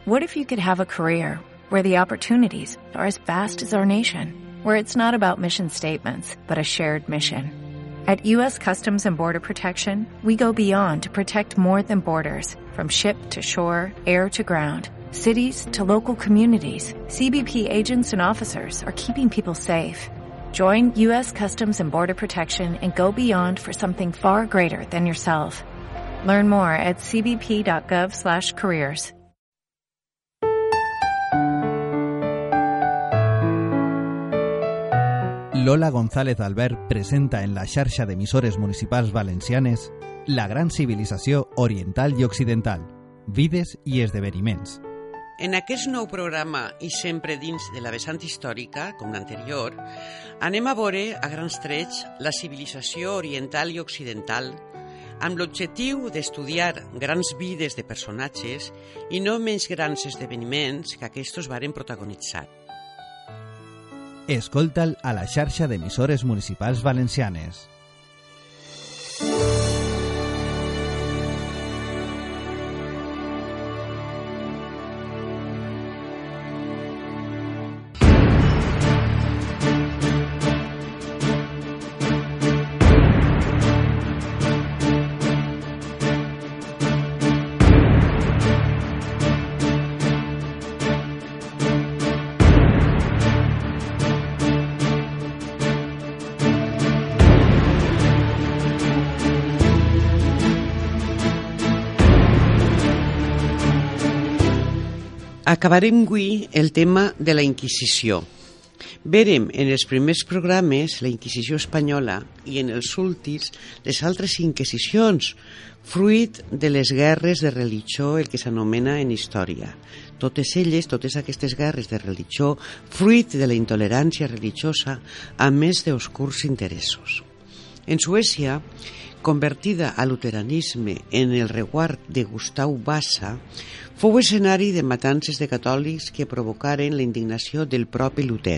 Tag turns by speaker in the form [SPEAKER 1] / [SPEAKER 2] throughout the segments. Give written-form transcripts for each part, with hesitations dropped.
[SPEAKER 1] What if you could have a career where the opportunities are as vast as our nation, where it's not about mission statements, but a shared mission? At U.S. Customs and Border Protection, we go beyond to protect more than borders, from ship to shore, air to ground, cities to local communities. CBP agents and officers are keeping people safe. Join U.S. Customs and Border Protection and go beyond for something far greater than yourself. Learn more at cbp.gov/careers.
[SPEAKER 2] Lola González Albert presenta en la xarxa d'emissores municipals valencianes la gran civilització oriental i occidental, vides i esdeveniments.
[SPEAKER 3] En aquest nou programa, i sempre dins de la vessant històrica, com l'anterior, anem a veure a grans trets la civilització oriental i occidental, amb l'objectiu d'estudiar grans vides de personatges i no menys grans esdeveniments que aquests varen protagonitzar.
[SPEAKER 2] Escolta'l a la xarxa d'emissores municipals valencianes.
[SPEAKER 3] Acabarem avui el tema de la Inquisició. Vérem en els primers programes la Inquisició espanyola i en els últims les altres inquisicions, fruit de les guerres de religió, el que s'anomena en història. Totes aquestes guerres de religió, fruit de la intolerància religiosa, a més d'oscurs interessos. En Suècia, convertida a luteranisme en el reguard de Gustav Vasa, fou escenari de matances de catòlics que provocaren la indignació del propi Luter.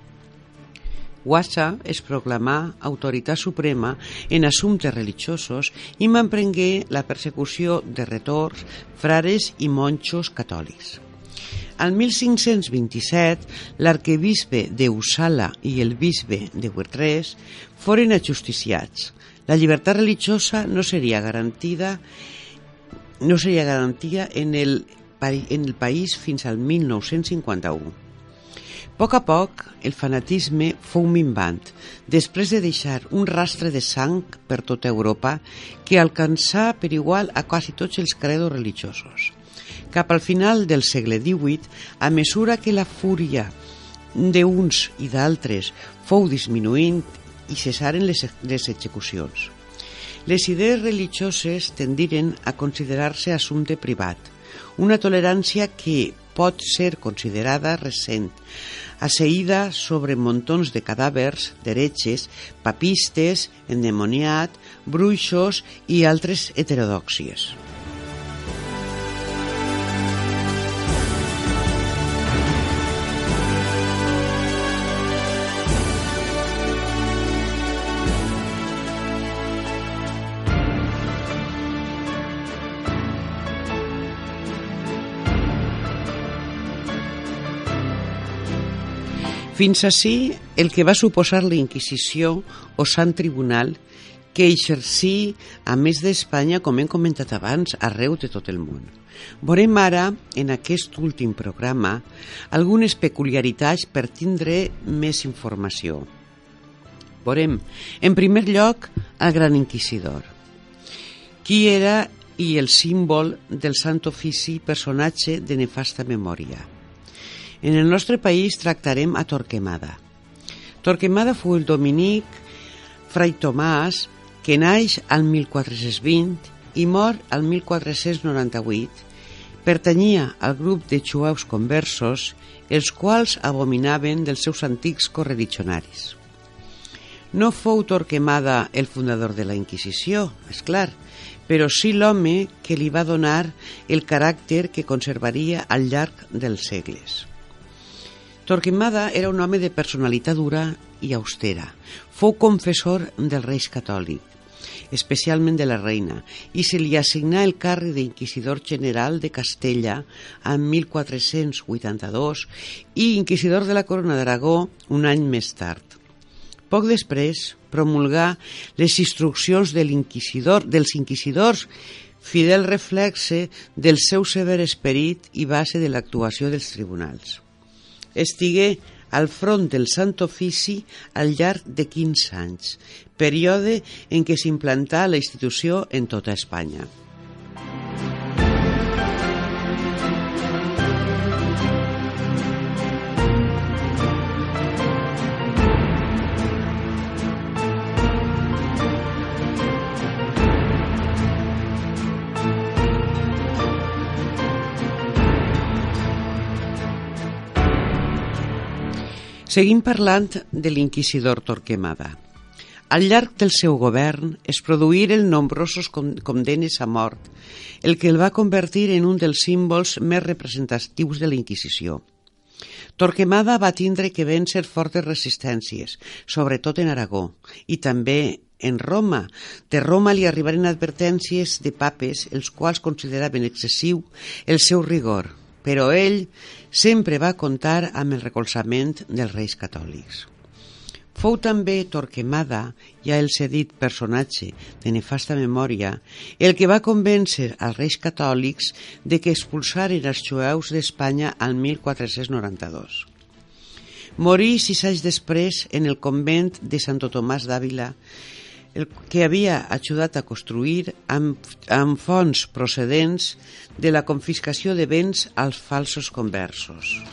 [SPEAKER 3] Vasa es proclamà autoritat suprema en assumptes religiosos i m'emprengué la persecució de retors, frares i monjos catòlics. Al 1527, l'arquebisbe d'Uppsala i el bisbe de Utrecht foren ajusticiats. La llibertat religiosa no seria garantida en el país fins al 1951. A poc, el fanatisme fou minvant, després de deixar un rastre de sang per tota Europa que alcançà per igual a quasi tots els credos religiosos. Cap al final del segle XVIII, a mesura que la fúria d'uns i d'altres fou disminuint i cessaren les execucions. Les idees religioses tendiren a considerar-se assumpte privat, una tolerància que pot ser considerada recent, asseïda sobre muntons de cadàvers d'heretges, papistes, endemoniat, bruixos i altres heterodòxies. Fins ací el que va suposar la Inquisició o Sant Tribunal que exercí, a més d'Espanya, com hem comentat abans, arreu de tot el món. Veurem ara, en aquest últim programa, algunes peculiaritats per tindre més informació. Veurem, en primer lloc, el Gran Inquisidor. Qui era i el símbol del Sant Ofici, personatge de nefasta memòria. En el nostre país tractarem a Torquemada. Torquemada fou el dominic Fray Tomàs que naix al 1420 i mor al 1498. Pertanyia al grup de jueus conversos, els quals abominaven dels seus antics correligionaris. No fou Torquemada el fundador de la Inquisició, és clar, però sí l'home que li va donar el caràcter que conservaria al llarg dels segles. Torquemada era un home de personalitat dura i austera. Fou confessor dels reis catòlics. especialment de la reina, i se li assignà el càrrec d'inquisidor general de Castella en 1482 i inquisidor de la Corona d'Aragó un any més tard. Poc després promulgà les instruccions dels inquisidors, fidel reflexe del seu sever esperit i base de l'actuació dels tribunals. Estigué al front del Sant Ofici al llarg de 15 anys, període en què s'implantà la institució en tota Espanya. Seguim parlant de l'inquisidor Torquemada. Al llarg del seu govern es produïren nombrosos condemnes a mort, el que el va convertir en un dels símbols més representatius de la Inquisició. Torquemada va tindre que vèncer fortes resistències, sobretot en Aragó, i també en Roma. De Roma li arribaren advertències de papes, els quals consideraven excessiu el seu rigor, però ell sempre va comptar amb el recolzament dels reis catòlics. Fou també Torquemada, ja el cedit personatge de nefasta memòria, el que va convèncer als reis catòlics de que expulsaren els jueus d'Espanya al 1492. Morí 6 anys després en el convent de Santo Tomàs d'Àvila, el que havia ajudat a construir amb fons procedents de la confiscació de béns als falsos conversos.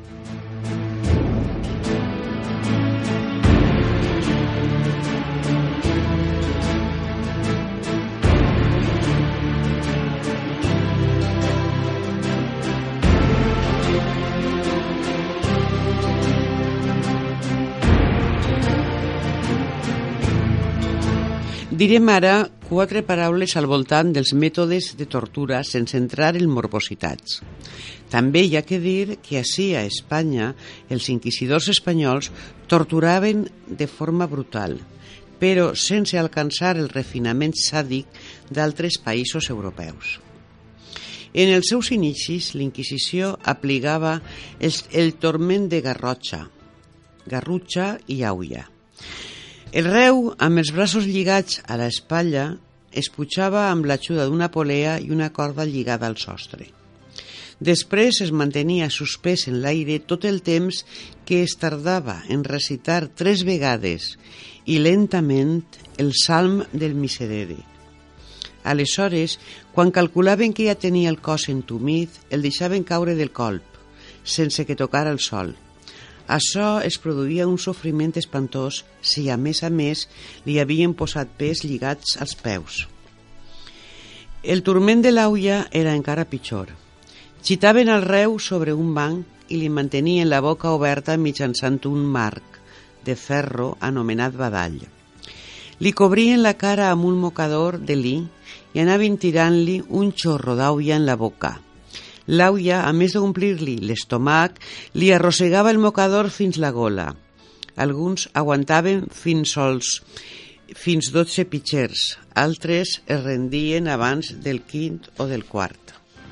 [SPEAKER 3] Direm ara 4 paraules al voltant dels mètodes de tortura sense entrar en morbositats. També hi ha que dir que ací a Espanya els inquisidors espanyols torturaven de forma brutal, però sense alcançar el refinament sàdic d'altres països europeus. En els seus inicis, l'Inquisició aplicava el turment de garrutxa i aulla. El reu, amb els braços lligats a l'espatlla, es pujava amb l'ajuda d'una polea i una corda lligada al sostre. Després es mantenia suspès en l'aire tot el temps que es tardava en recitar 3 vegades i lentament el salm del Miserere. Aleshores, quan calculaven que ja tenia el cos entumit, el deixaven caure del colp, sense que tocara el sol. Això es produïa un sofriment espantós si a més li havien posat pes lligats als peus. El turment de l'aulla era encara pitjor. Gitaven el reu sobre un banc i li mantenien la boca oberta mitjançant un marc de ferro anomenat badall. Li cobrien la cara amb un mocador de lli i anaven tirant-li un xorro d'aulla en la boca. L'aulla, a més d'omplir-li l'estómac, li arrossegava el mocador fins la gola. Alguns aguantaven fins 12 pitxers, altres es rendien abans del 5 o del 4.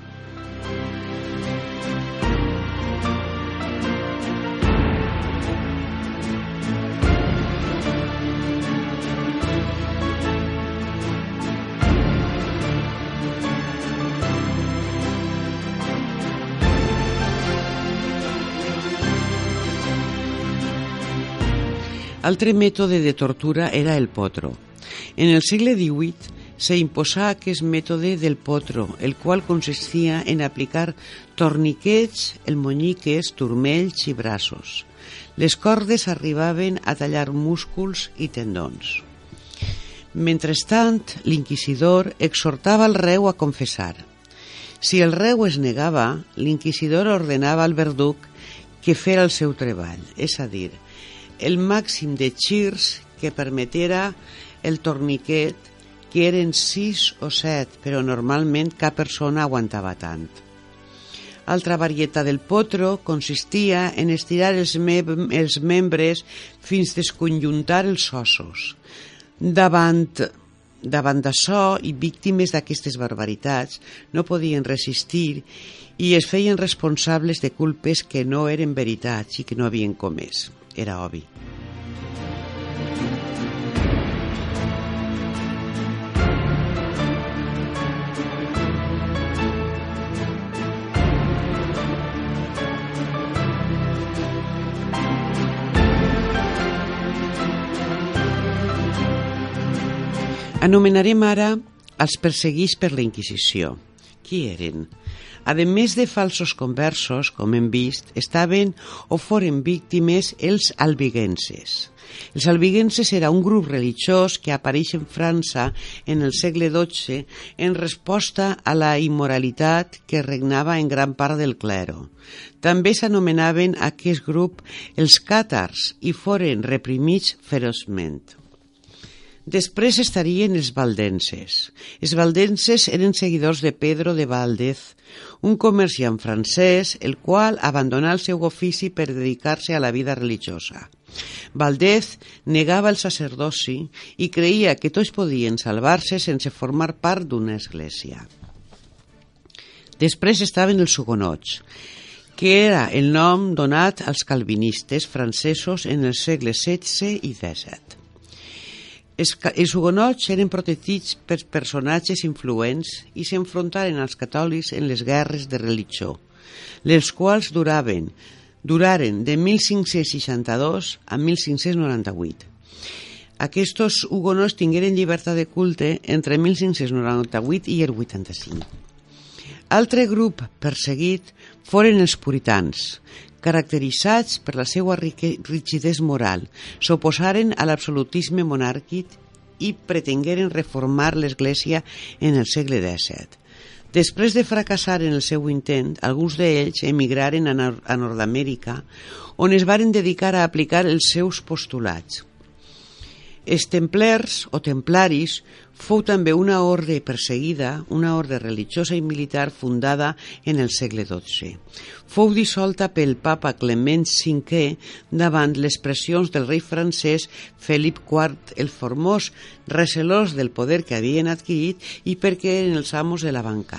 [SPEAKER 3] Altre mètode de tortura era el potro. En el segle XVIII s'imposà aquest mètode del potro, el qual consistia en aplicar torniquets, elmonyiques, turmells i braços. Les cordes arribaven a tallar músculs i tendons. Mentrestant, l'inquisidor exhortava el reu a confessar. Si el reu es negava, l'inquisidor ordenava al verduc que fera el seu treball, és a dir, el màxim de xirs que permetiera el torniquet, que eren 6 o 7, però normalment cap persona aguantava tant. Altra varietat del potro consistia en estirar els membres fins desconjuntar els ossos. Davant davant d'això i víctimes d'aquestes barbaritats no podien resistir i es feien responsables de culpes que no eren veritats i que no havien comès. Era obvi. Anomenarem ara els perseguits per la Inquisició. Qui eren? A més de falsos conversos, com hem vist, estaven o foren víctimes els albigenses. Els albigenses era un grup religiós que apareix en França en el segle XII en resposta a la immoralitat que regnava en gran part del clero. També s'anomenaven aquest grup els càtars i foren reprimits feroçment. Després estarien els valdenses. Els valdenses eren seguidors de Pedro de Valdez, un comerciant francès, el qual abandonà el seu ofici per dedicar-se a la vida religiosa. Valdez negava el sacerdoci i creia que tots podien salvar-se sense formar part d'una església. Després estaven els hugonots, que era el nom donat als calvinistes francesos en els segles XVI i XVII. Els hugonots eren protegits per personatges influents i s'enfrontaren als catòlics en les guerres de religió, les quals duraren de 1562 a 1598. Aquests hugonots tingueren llibertat de culte entre 1598 i el 85. Altre grup perseguit foren els puritans, caracteritzats per la seva rigidesa moral, s'oposaren a l'absolutisme monàrquic i pretengueren reformar l'Església en el segle XVII. Després de fracassar en el seu intent, alguns d'ells emigraren a Nord-Amèrica, on es varen dedicar a aplicar els seus postulats. Els templers o templaris fou també una orde perseguida, una orde religiosa i militar fundada en el segle XII. Fou dissolta pel papa Clement V davant les pressions del rei francès Felip IV el Formós, recelós del poder que havien adquirit i perquè eren els amos de la banca.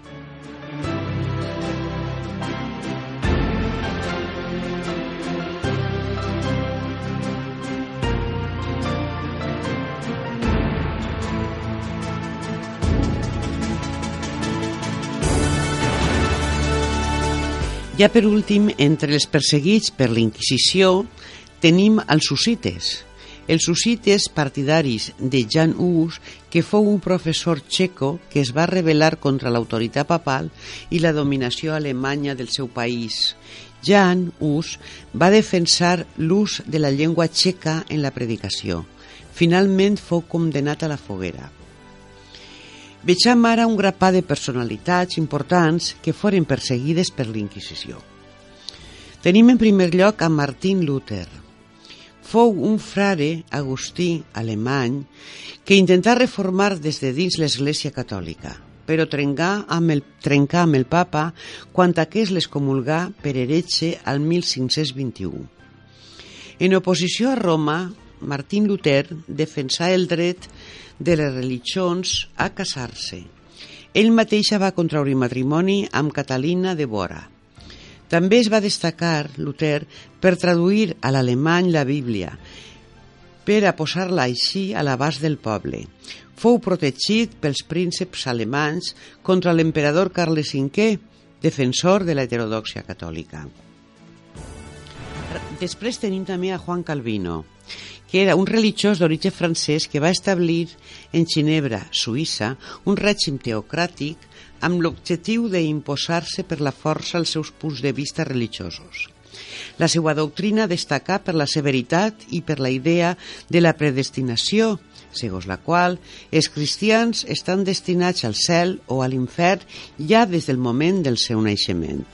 [SPEAKER 3] Ja per últim, entre els perseguits per la Inquisició, tenim els hussites. Els hussites partidaris de Jan Hus, que fou un professor txeco que es va rebel·lar contra l'autoritat papal i la dominació alemanya del seu país. Jan Hus va defensar l'ús de la llengua txeca en la predicació. Finalment fou condemnat a la foguera. Vegem ara un grapat de personalitats importants que foren perseguides per la Inquisició. Tenim en primer lloc a Martin Luther. Fou un frare agustí alemany que intentà reformar des de dins l'Església Catòlica, però trencà amb el papa quan aquest l'excomulgà per heretge al 1521. En oposició a Roma, Martin Luther defensà el dret de les religions a casar-se. Ell mateix va contraure matrimoni amb Catalina de Bora. També es va destacar Luther per traduir a l'alemany la Bíblia, per a posar-la així a l'abast del poble. Fou protegit pels prínceps alemanys contra l'emperador Carles V, defensor de la heterodòxia catòlica. Després tenim també a Juan Calvino, que era un religiós d'origen francès que va establir en Ginebra, Suïssa, un règim teocràtic amb l'objectiu d'imposar-se per la força els seus punts de vista religiosos. La seva doctrina destacà per la severitat i per la idea de la predestinació, segons la qual els cristians estan destinats al cel o a l'infern ja des del moment del seu naixement.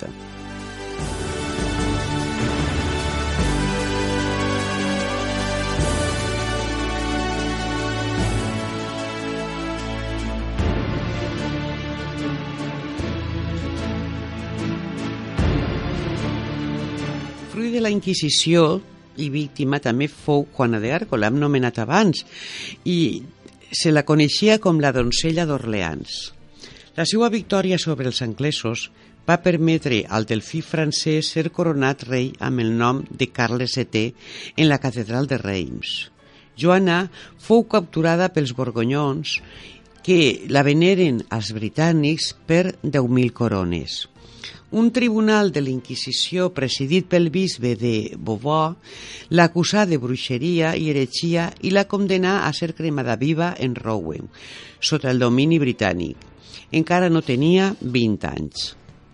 [SPEAKER 3] Fruit de la Inquisició i víctima també fou Juana d'Arco, l'hem nomenat abans, i Se la coneixia com la donzella d'Orleans. La seva victòria sobre els anglesos va permetre al delfí francès ser coronat rei amb el nom de Carles VII en la catedral de Reims. Joana fou capturada pels borgonyons que la veneren als britànics per 10.000 corones. Un tribunal de la Inquisició presidit pel bisbe de Beauvais l'acusà de bruixeria i heretgia i la condemnà a ser cremada viva en Rouen, sota el domini britànic. Encara no tenia 20 anys.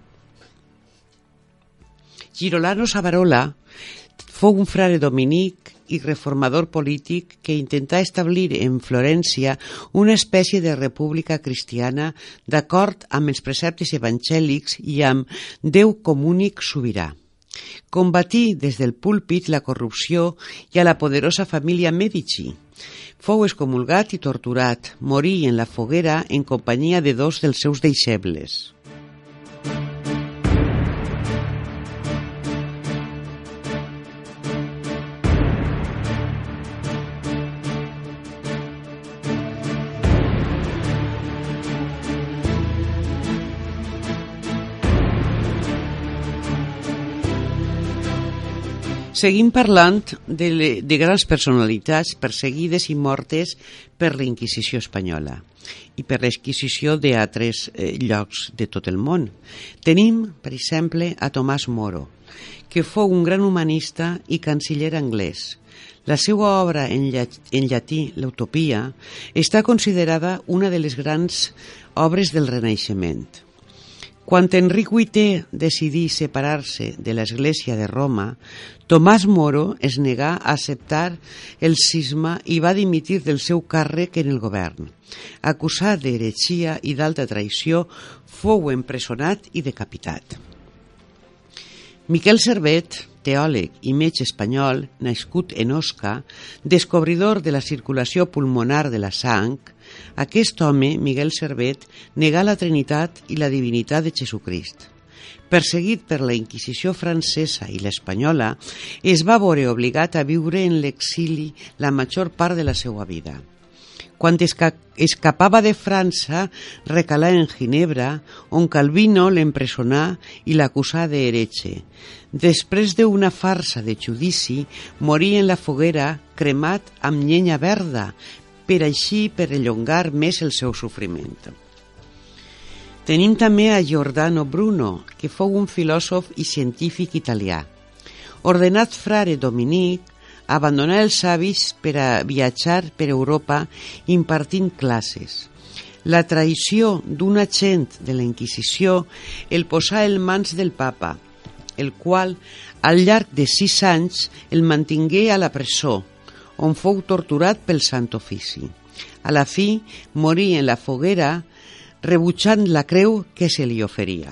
[SPEAKER 3] Girolamo Savonarola fou un frare dominic i reformador polític que intentà establir en Florència una espècie de república cristiana d'acord amb els preceptes evangèlics i amb Déu com únic sobirà. Combatí des del púlpit la corrupció i a la poderosa família Medici. Fou excomulgat i torturat, morí en la foguera en companyia de 2 dels seus deixebles. Seguim parlant de grans personalitats perseguides i mortes per la Inquisició espanyola i per la Inquisició d'altres llocs de tot el món. Tenim, per exemple, a Tomàs Moro, que fou un gran humanista i canciller anglès. La seva obra en llatí, l'Utopia, està considerada una de les grans obres del Renaixement. Quan Enric VIII decidí separar-se de l'Església de Roma, Tomàs Moro es negà a acceptar el cisma i va dimitir del seu càrrec en el govern. Acusat d'heretgia i d'alta traïció, fou empresonat i decapitat. Miquel Servet, teòleg i metge espanyol, nascut en Osca, descobridor de la circulació pulmonar de la sang, aquest home, Miquel Servet, negà la Trinitat i la divinitat de Jesucrist. Perseguit per la Inquisició francesa i l'espanyola, es va veure obligat a viure en l'exili la major part de la seva vida. Quan escapava de França, recalà en Ginebra, on Calvino l'empresonà i l'acusà d'heretge. Després d'una farsa de judici, morí en la foguera cremat amb llenya verda, per així perllongar més el seu sofriment. Tenim també a Giordano Bruno, que fou un filòsof i científic italià. Ordenat frare dominic, abandonà els hàbits per a viatjar per Europa impartint classes. La traïció d'un agent de la Inquisició el posà en mans del papa, el qual, al llarg de 6 anys, el mantingué a la presó, on fou torturat pel Sant Ofici. A la fi, morí en la foguera, rebutjant la creu que se li oferia.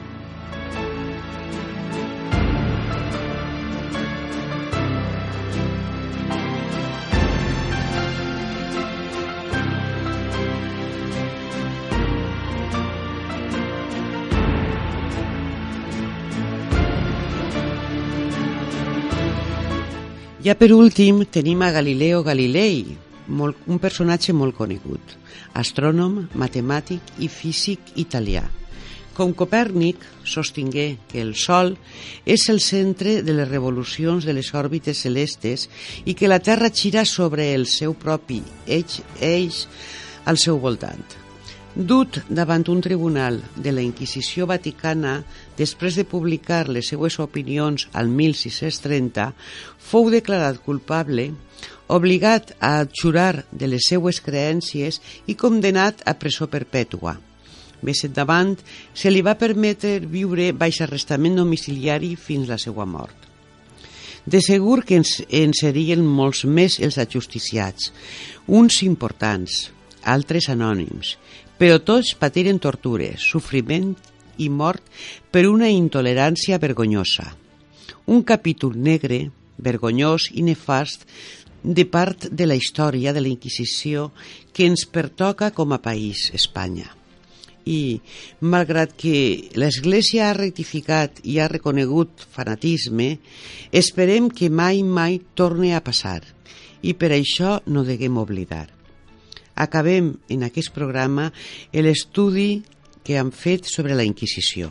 [SPEAKER 3] Ja per últim tenim a Galileo Galilei, un personatge molt conegut, astrònom, matemàtic i físic italià. Com Copèrnic, sostingué que el Sol és el centre de les revolucions de les òrbites celestes i que la Terra gira sobre el seu propi eix al seu voltant. Dut davant un tribunal de la Inquisició Vaticana, després de publicar les seues opinions al 1630, fou declarat culpable, obligat a abjurar de les seues creències i condemnat a presó perpètua. Més endavant, se li va permetre viure baix arrestament domiciliari fins la seva mort. De segur que en serien molts més els ajusticiats, uns importants, altres anònims, però tots patiren tortures, sofriment i mort per una intolerància vergonyosa. Un capítol negre, vergonyós i nefast de part de la història de la Inquisició que ens pertoca com a país, Espanya. I, malgrat que l'Església ha rectificat i ha reconegut fanatisme, esperem que mai torni a passar i per això no deguem oblidar. acabem en aquest programa l'estudi que han fet sobre la Inquisició.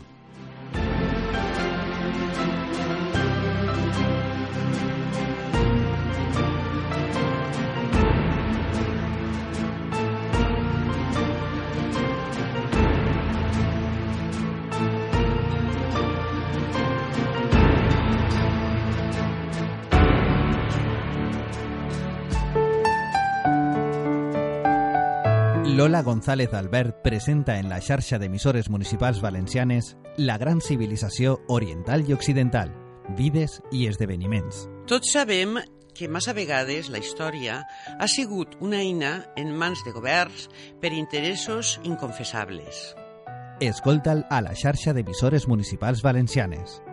[SPEAKER 2] Lola González Albert presenta en la xarxa d'emissores municipals valencianes la gran civilització oriental i occidental, vides i esdeveniments.
[SPEAKER 3] Tots sabem que massa vegades la història ha sigut una eina en mans de governs per interessos inconfessables.
[SPEAKER 2] Escolta'l a la xarxa d'emissores municipals valencianes.